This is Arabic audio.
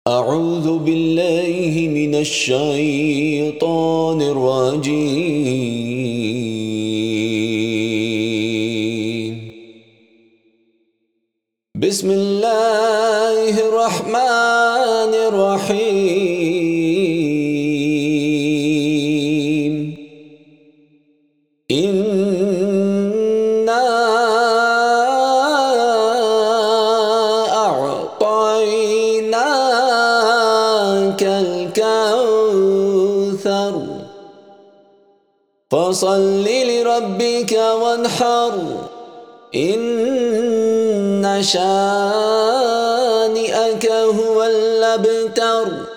أعوذ بالله من الشيطان الرجيم. بسم الله الرحمن الرحيم. إنا أعطيناك الكوثر فصل لربك وانحر إن شانئك هو الأبتر.